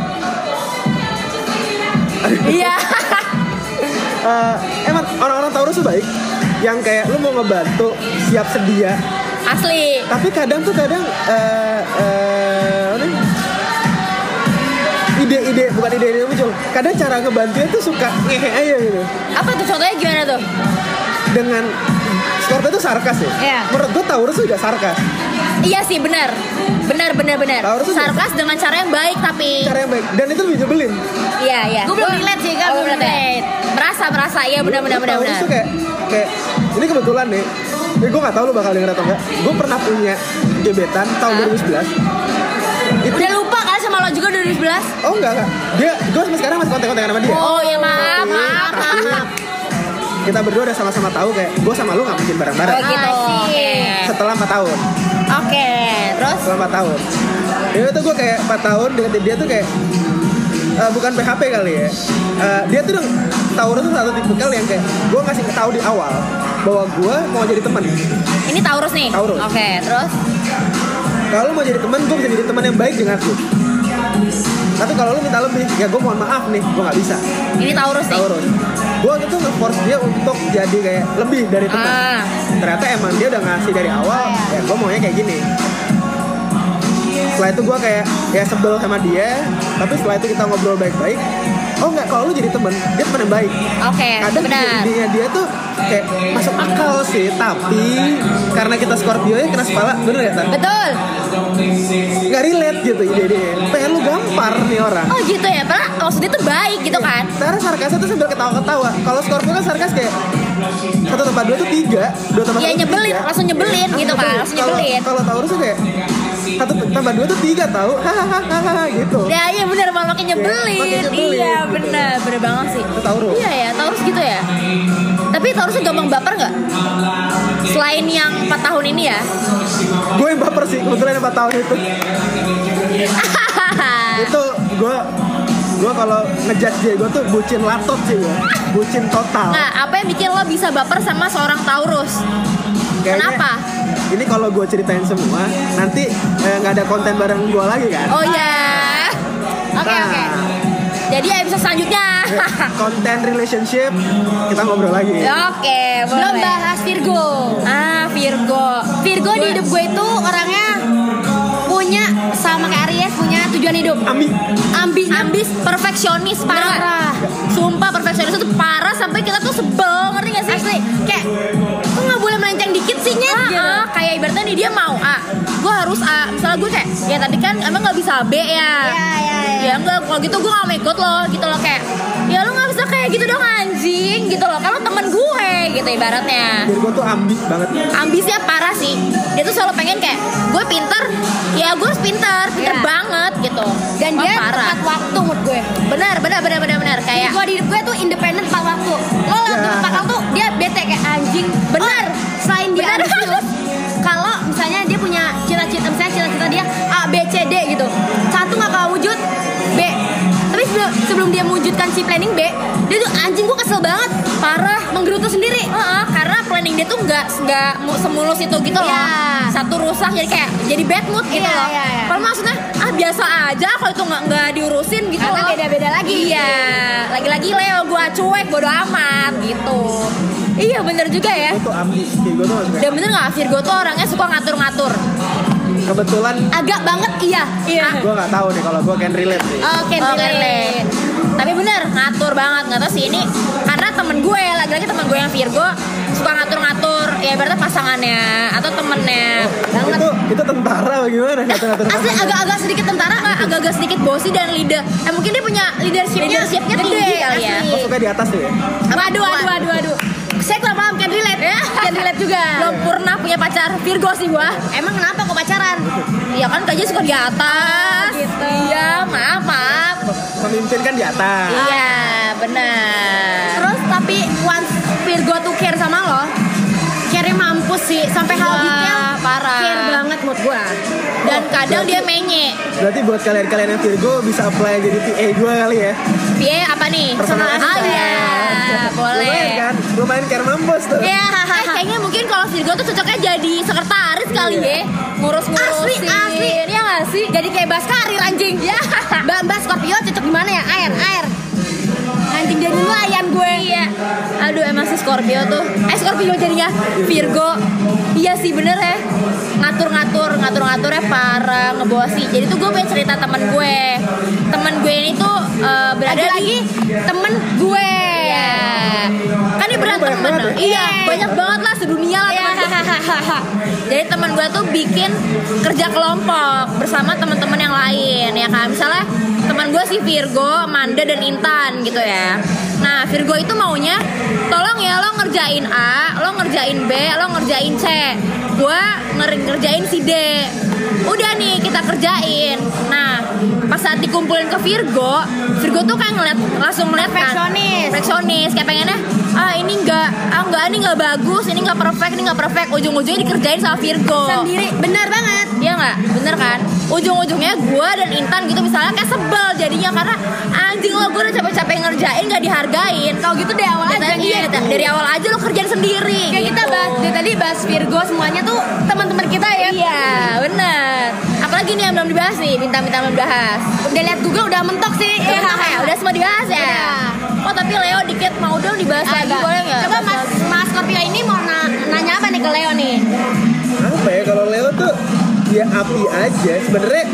Iya. eh, emang orang-orang Taurus tuh baik, yang kayak lu mau ngebantu, siap sedia. Asli. Tapi kadang tuh kadang eh, eh, apa nih? ide-ide bukan ide-ide muncul. Kadang cara ngebantunya tuh suka ngehe aja gitu. Apa tuh contohnya gimana tuh? Dengan Scorpio tuh sarkas ya. Iya. Menurut gue Taurus juga sarkas. Iya sih, benar. Benar benar benar. Taurus tuh Sarkas dengan cara yang baik tapi. Cara yang baik dan itu lebih nyebelin. Iya iya. Gue belum relate sih, kan Oh, belum belum relate. Merasa merasa iya benar benar benar Taurus benar. tuh kayak kayak ini kebetulan nih. Ini gue gak tahu lu bakal denger atau enggak. Gue pernah punya gebetan tahun Hah? dua ribu sebelas. Itu Udah lupa kan sama lo juga dua ribu sebelas. oh enggak enggak. Dia gue sampai sekarang masih kontak-kontakan sama dia. Oh ya maaf Tapi- maaf tapi maaf. kita berdua udah sama-sama tahu kayak gue sama lu gak mungkin bareng-bareng. Oh gitu. Asik. Oke. Setelah empat tahun. Oke. Terus? Setelah empat tahun. Ini tuh gue kayak empat tahun deketin dia tuh kayak eh, bukan P H P kali ya. Eh, dia tuh dong Taurus tuh satu tipikal yang kayak gue ngasih tahu di awal bahwa gue mau jadi teman. Ini Taurus nih. Taurus. Oke. Terus? Kalau lu mau jadi teman, gue bisa jadi teman yang baik denganku. Tapi kalau lu minta lebih, ya gue mohon maaf nih, gue nggak bisa. Ini Taurus nih. Taurus. Gue gitu nge-force dia untuk jadi kayak lebih dari teman. Ah. Ternyata emang dia udah ngasih dari awal, ya gue maunya kayak gini. Setelah itu gue kayak ya sebel sama dia, tapi setelah itu kita ngobrol baik-baik. Oh enggak, kalau lu jadi temen, dia temen yang baik. Oke. Kadang Benar. idenya dia tuh kayak masuk akal sih, tapi karena kita Scorpio ya keras kepala, bener gak Tan? Betul. Nggak relate gitu ide dia. Pengen lu gampar nih orang. Oh gitu ya. Padahal maksudnya tuh baik gitu kan. Karena sarkasnya tuh sambil ketawa-ketawa. Kalau Scorpio kan sarkas kayak satu tambah dua tuh tiga, dua tambah Iya, satu nyebelin, tiga. langsung nyebelin gitu kan, langsung Kalau- nyebelin. Kalau Taurus tuh kayak satu tambah dua tuh tiga tahu, hahaha gitu. Ya iya benar malah makin nyebelin. makin nyebelin, Iya gitu. benar, benar banget sih. Itu Taurus. Iya ya, Taurus gitu ya. Tapi Taurus Taurus tuh gampang baper nggak? Selain yang empat tahun ini ya. Gue yang baper sih kebetulan empat tahun itu. Itu gue gue kalau ngejudge dia gue tuh bucin laptop sih gue, bucin total. Nah, apa yang bikin lo bisa baper sama seorang Taurus? Kayaknya, kenapa? Ini kalau gue ceritain semua nanti nggak eh, ada konten bareng gue lagi kan? Oh ya. Oke nah, oke. Jadi episode selanjutnya konten relationship kita ngobrol lagi. Oke, belum bahas Virgo. Ah, Virgo. Virgo di hidup gue itu orangnya punya sama kayak Aries, punya tujuan hidup. Ambi. Ambi, ambis, perfeksionis parah. Parah. Sumpah perfeksionis itu parah sampai kita tuh sebel, ngerti gak sih? Asli, kayak kok nggak boleh melenceng dikit sih nyet? Ah, Gitu. ah, kayak ibaratnya nih dia mau A, gue harus A. Misalnya gue kayak, ya tadi kan emang nggak bisa B ya. Iya iya iya. Ya enggak, kalau gitu gue gak mau ikut lo gitu loh, kayak ya lo gak bisa kayak gitu dong anjing gitu loh, kalau temen gue gitu ibaratnya. Virgo tuh ambi banget. Ambisnya parah sih, dia tuh selalu pengen kayak gue pinter, ya gue harus pinter, pinter Iya. banget gitu. Dan Wah, dia parah. tepat waktu menurut gue. Benar, benar, benar, benar, benar. Kayak Virgo di hidup gue tuh independen tepat waktu. Lo liat Ya. tepat waktu dia bete kayak anjing. Benar. Oh, selain dia Benar. ambisius, kalau misalnya dia punya cita-cita, misalnya cita-cita dia A, B, C, D gitu. Satu nggak kalah wujud, B. Tapi sebelum, sebelum dia mewujudkan si planning B, dia tuh anjing gue kesel banget, parah, menggerutu sendiri. Heeh, karena planning dia tuh nggak nggak mu- semulus itu gitu loh. Iya. Satu rusak jadi kayak jadi bad mood gitu Iya, loh. iya, iya. Kalau maksudnya ah biasa aja kalau itu nggak nggak diurusin gitu Karena loh. beda-beda lagi. Iya, lagi-lagi Leo gua cuek bodo amat gitu. Iya bener juga ya. Gue tuh ambi. Virgo tuh suka. Dan bener nggak Virgo tuh orangnya suka ngatur-ngatur. Kebetulan Agak banget iya. Iya. gue nggak tahu nih kalau gue can relate sih. Oke, Oh, relate. relate. Tapi bener ngatur banget, nggak tahu sih ini karena temen gue lagi-lagi temen gue yang Virgo suka ngatur-ngatur ya berarti pasangannya atau temennya. Banget. Itu itu tentara bagaimana ngatur-ngatur Asli agak-agak sedikit tentara Nggak, agak-agak sedikit bossy dan leader. Eh mungkin dia punya leadershipnya Leadershipnya tinggi gede, kali ya. asli. Gue suka di atas tuh ya. Waduh, waduh, waduh, waduh. Saya kurang paham, can relate. Can relate juga. Belum pernah punya pacar Virgo sih gua. Emang kenapa kok pacaran? Ya kan kayaknya suka di atas. Oh, gitu. Iya, maaf, maaf. Pemimpin kan di atas. Iya, benar. Terus tapi once Virgo tuh care sama lo, care mampus sih sampai hal Wah, detail. parah. Care banget mood gua. Dan kadang dia menye. Berarti buat kalian-kalian yang Virgo bisa apply jadi P A gue kali ya. P A apa nih? Personal Ah assistant. iya, boleh. Lumayan kan? Lumayan care mampus tuh. Ya, eh, kayaknya mungkin kalau Virgo tuh cocoknya jadi sekretaris kali ya, ngurus-ngurusin. Asli, asli. Iya nggak sih? Jadi kayak Baskari anjing. Ya. Mbak Mbak Scorpio cocok gimana ya? Air, air. Anjing jadi nelayan gue. Iya. Aduh emang si Scorpio tuh. Eh Scorpio jadinya Virgo. Iya sih bener ya. Ngatur-ngatur, ngatur-ngaturnya parah, ngebosi. Jadi tuh gue pengen cerita temen gue. Temen gue ini tuh eh, berada Ada di lagi temen gue. Iya. Kan dia berat Banyak temen. banget ya? Iya, Iya. banyak banget lah sedunia lah Iya. temen gue. Jadi teman gue tuh bikin kerja kelompok bersama teman-teman yang lain ya kan. Misalnya teman gue si Virgo, Manda dan Intan gitu ya. Nah Virgo itu maunya tolong ya lo ngerjain A, lo ngerjain B, lo ngerjain C. Gue nger- ngerjain si D. Udah nih kita kerjain. Nah pas saat dikumpulin ke Virgo, Virgo tuh kayak ngeliat langsung ngeliat kan, Perfeksionis. perfeksionis kayak pengennya ah ini enggak, ah enggak ini enggak bagus, ini enggak perfect, ini enggak perfect. Ujung-ujungnya dikerjain sama Virgo. Sendiri, benar banget. Iya nggak, bener kan? Ujung-ujungnya gue dan Intan gitu misalnya kayak sebel jadinya karena anjing lo gue udah capek-capek ngerjain nggak dihargain. Kalau gitu dari awal aja Dari, iya, nih. dari awal aja lo kerjain sendiri. Kayak kita gitu. bahas dari tadi bahas Virgo semuanya tuh teman-teman kita ya. Iya, bener. Apalagi nih yang belum dibahas nih, bintang-bintang belum dibahas. Udah lihat Google udah mentok sih. Udah, ya, udah semua dibahas ya. Udah. Oh tapi Leo dikit mau dong dibahas lagi Agak. boleh nggak? Coba Mas Mas Scorpio ini mau na- nanya apa nih ke Leo nih? Apa ya kalau Leo tuh dia api aja sebenarnya.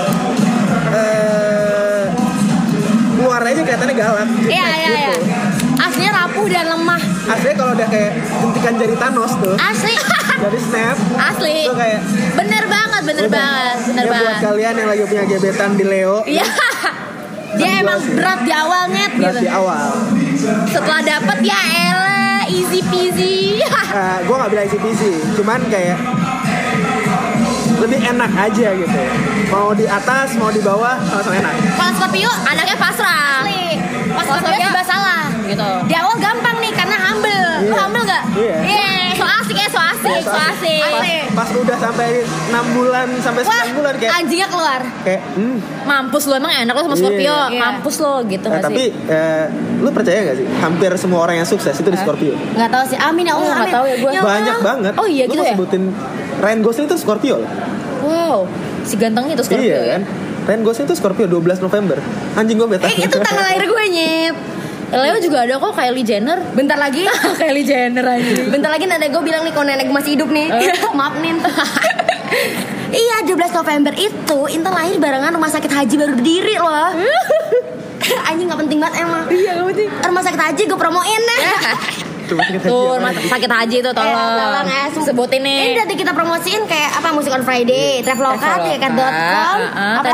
Eh luar aja kelihatannya galak. Iya iya iya. gitu. Aslinya rapuh dan lemah. Aslinya kalau udah kayak jentikan jari Thanos tuh Asli. dari snap Asli. itu kayak Bener banget, bener udah. banget, bener Ya, buat banget. kalian yang lagi punya gebetan di Leo Iya. Dia emang berat di awalnya berat gitu. di awal. Setelah dapet ya elah easy peasy. Uh, gue nggak bilang easy peasy, cuman kayak lebih enak aja gitu. Mau di atas, mau di bawah, sama-sama enak. Kalau Scorpio Anaknya pasrah. asli. Pas Kalau Scorpio Scorpio- serba salah. Gitu. Di awal gampang nih karena humble. Iya. Lu hamil gak? Iya. Yeah. So asik ya, so asik, so asik. Pas, pas udah sampai enam bulan sampai sembilan bulan kayak anjingnya keluar. Kayak hmm. Mampus lu, emang enak lu sama Scorpio. Iya. Mampus lu gitu Nah, gak tapi sih? eh, lu percaya gak sih? Hampir semua orang yang sukses itu di Scorpio. Nggak tahu sih. Amin ya Allah. Oh, nggak amin. tahu ya gua. Allah. Banyak banget. Oh iya Lu gitu mau ya? sebutin Ryan Gosling itu Scorpio loh. Wow, si gantengnya itu Scorpio Iya ya? kan? Ryan Gosling itu Scorpio dua belas November. Anjing gue beta. Eh itu tanggal lahir gue nyet. Leo juga ada kok, Kylie Jenner. Bentar lagi. Kylie Jenner aja. Bentar lagi nenek gue bilang nih kalau nenek gue masih hidup nih. Maaf nih. Iya dua belas November itu Intan lahir barengan rumah sakit haji baru berdiri loh. Anjing gak penting banget emang. Iya gak penting. Rumah sakit haji gue promoin. Cuma sakit hati Tuh, apa rumah lagi? sakit haji tuh tolong. Eh, tolong ya, sum- Sebutin nih. Ini nanti kita promosiin kayak apa Musik on Friday, Traveloka, tiket dot com. Traveloka,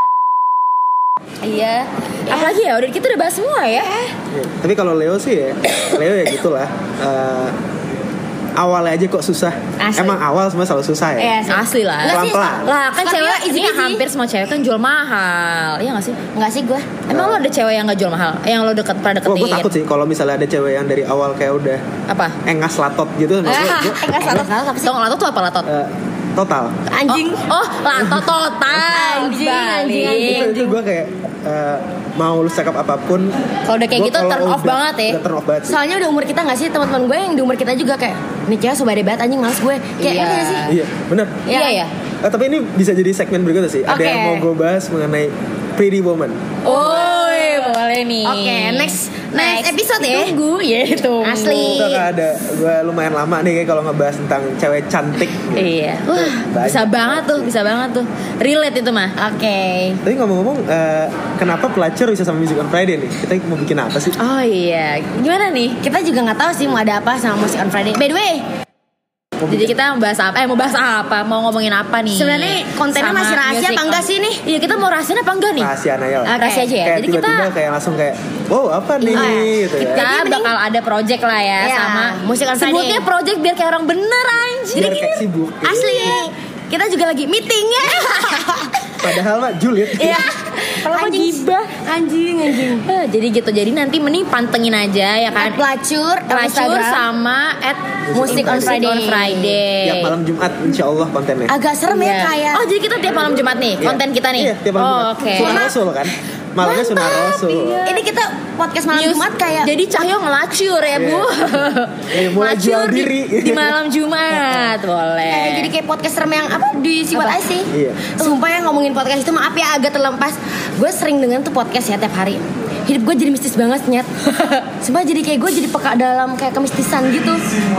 Iya. Apalagi ya, udah kita udah bahas semua ya. Iya. Tapi kalau Leo sih ya, Leo ya gitulah. Eh, awalnya aja kok susah. Asli. Emang awal semua selalu susah ya. Iya sih. Asli lah. Enggak sih, Pelan-pelan. Lah kan Scorpio cewek easy ini peasy. hampir semua cewek kan jual mahal. Iya gak sih? Enggak sih gue. Emang lo ada cewek yang gak jual mahal? Yang lo deket pada Wah, deketin? gue takut sih kalau misalnya ada cewek yang dari awal kayak udah Apa? engas latot gitu. Nah, gua- gua- Enggak salah salah apa sih? Tau latot tuh apa latot? eh, total. Anjing. Oh, oh latot total. Anjing, Balik. anjing, anjing. Itu, itu gue kayak eh, mau lu cakap apapun. Kalau udah kayak gua gitu kalau turn off udah- banget ya. Udah turn off banget sih. Soalnya udah umur kita nggak sih teman-teman gue yang di umur kita juga kayak nih cewek sobat banget anjing males gue. Kayak Iya. ngerti nggak sih? Iya, benar. Iya ya. Eh, tapi ini bisa jadi segmen berikutnya sih. Ada Oke. yang mau gue bahas mengenai Pretty Woman. Oh, boleh nih. Oke, next next episode ya. Tunggu ya, tunggu. Asli. Itu akan ada, gue lumayan lama nih kayak kalau ngebahas tentang cewek cantik gitu. Iya. Wah, Banyak. bisa banget tuh, bisa banget tuh. Relate itu mah. Oke. Tapi ngomong-ngomong, eh, kenapa pelacur bisa sama Music on Friday nih? Kita mau bikin apa sih? Oh iya. Gimana nih? Kita juga nggak tahu sih mau ada apa sama Musik on Friday. By the way, Mau Jadi bikin- kita mau bahas apa? Eh mau bahas apa? Mau ngomongin apa nih? sebenarnya kontennya Sama masih rahasia music apa enggak on- sih nih? Iya, kita mau rahasia apa enggak nih? rahasia aja lah. Oke. Rahasia aja ya. Kayak Jadi kita tiba-tiba kayak langsung kayak, wow apa nih? Oh, iya. gitu ya. kita Jadi mending- bakal ada project lah ya Iya, sama Musik on Friday. sebutnya project biar kayak orang bener anjir. Biar kayak sibuk. gitu. Asli. Kita juga lagi meeting ya. Padahal mah julid. Iya. Kalau mau Anjing. gibah. Anjing anjing. Eh, jadi gitu. Jadi nanti mending pantengin aja ya kan. At pelacur, Pelacur Instagram. sama at Musik on Friday. on Friday. Tiap malam Jumat insya Allah kontennya. Agak serem ya Iya. kayak. Oh jadi kita tiap malam Jumat nih Iya. konten kita nih. Iya, tiap malam oh, Jumat. Oke. Sunah Rasul kan? Malamnya Sunah Rasul. Ini kita podcast malam News. Jumat kayak Jadi Cahyo ngelacur ya bu. Iya, mulai Ngelacur jual di- diri. di, malam Jumat boleh. kayak jadi kayak podcast serem yang apa di Siwat Apa? aja sih. Iya. Sumpah ya ngomongin podcast itu maaf ya agak terlepas. Gue sering dengan tuh podcast ya tiap hari. Hidup gue jadi mistis banget nyet. Sumpah jadi kayak gue jadi peka dalam kayak kemistisan gitu.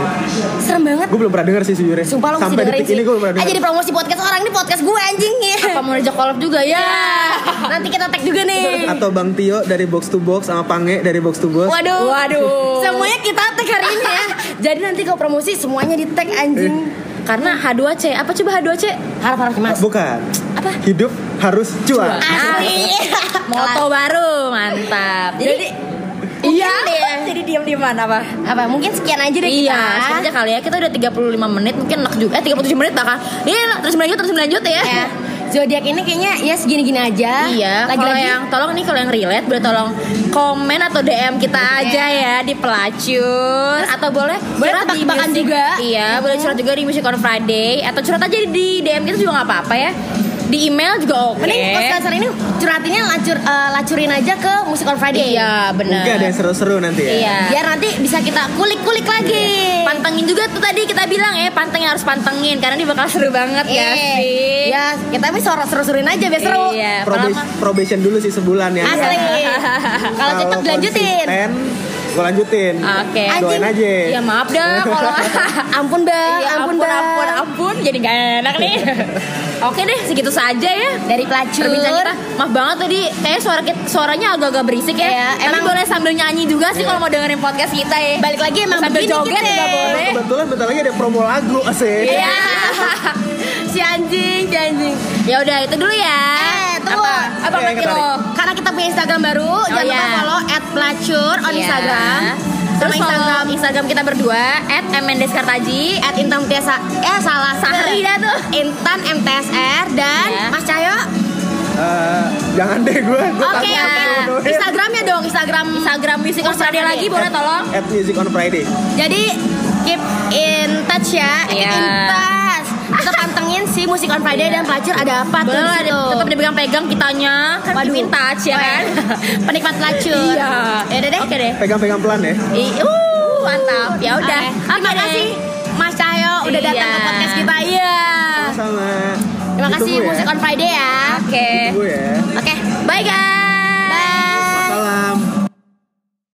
Serem banget. Gue belum pernah denger sih sejujurnya. Sumpah lo mesti Sampai dengerin detik sih. ini gue belum pernah Ah denger. jadi promosi podcast orang ini podcast gue anjing ya. Apa mau diajak collab juga ya? Nanti kita tag juga nih. Atau Bang Tio dari Box to Box sama Pange dari Box to Box. Waduh. Waduh. Semuanya kita tag hari ini ya. Jadi nanti kalau promosi semuanya di tag anjing. Karena H dua C. Apa coba H dua C? Harap-harap mas. Bukan. Apa? Hidup harus cuan. Asli. Moto baru, mantap. Jadi iya. deh. Jadi diam di mana apa? apa mungkin sekian aja deh Iya, kita. sekian aja kali ya. Kita udah tiga puluh lima menit, mungkin enak juga. Eh, tiga puluh tujuh menit bahkan. Iya, terus lanjut, terus lanjut ya. Ya. Zodiak ini kayaknya ya segini-gini aja. Iya, kalau Lagi-lagi yang tolong nih kalau yang relate boleh tolong komen atau D M kita aja ya di pelacur atau boleh boleh curhat di tebak-tebakan Music- juga. Iya, boleh curhat juga di Music on Friday atau curhat aja di D M kita juga nggak apa-apa ya. Di email juga oke. mending podcast ini curhatinnya lacur eh, lacurin aja ke Musik on Friday. Iya, benar. Mungkin ada yang seru-seru nanti ya. Iya. Biar nanti bisa kita kulik-kulik lagi. Pantengin juga tuh tadi kita bilang ya, pantengin harus pantengin karena ini bakal seru banget ya Iya. sih. Ya, kita tapi seru-seruin aja biar seru. Iya, Probation, malam- probation dulu sih sebulan ya. Asli. Kalau cocok dilanjutin. Gue lanjutin. Oke. Doain Anjing. aja. Ya maaf dah kalau Ampun bang, Iya, ampun, ampun, bang. ampun, ampun, jadi gak enak nih. Oke deh, segitu saja ya Dari pelacur. perbincangan kita. Maaf banget tadi, kayaknya suara kita, suaranya agak-agak berisik ya. Iya, Tapi emang- boleh sambil nyanyi juga sih kalau mau dengerin podcast kita ya. Balik lagi emang sambil begini joget kita. juga boleh. Kebetulan bentar lagi ada promo lagu asik. Iya. Si anjing, si anjing. Ya udah itu dulu ya. Eh, tunggu. Apa? Apa Oke, lagi kita lo? Karena kita punya Instagram baru, jangan iya. lupa follow at pelacur on Iya. Instagram. Terus Sama Instagram Instagram Instagram kita berdua at mndeskartaji. at Intan Tiasa. Eh salah. Sahri dah tuh. Intan M T S R dan Iya. Mas Cahyo. Eh, jangan deh gue. Oke, oke. Instagramnya dong, Instagram. Instagram Music on Friday lagi boleh tolong. At Music on Friday. Jadi keep in touch ya. Keep Iya. in touch. Kita pantengin si Musik on Friday dan pelacur ada apa tuh di Bener, situ. tetap dipegang-pegang kitanya. Waduh. Keep in touch ya kan. Penikmat pelacur. Iya. Ya udah deh. Oke deh. Pegang-pegang pelan ya. I- uh, mantap. Ya udah. Oke. Terima Oke deh. kasih Mas Cahyo udah datang Iya. ke podcast kita. Iya. Sama. Terima kasasi Ditunggu ya. Musik on Friday ya. Oke.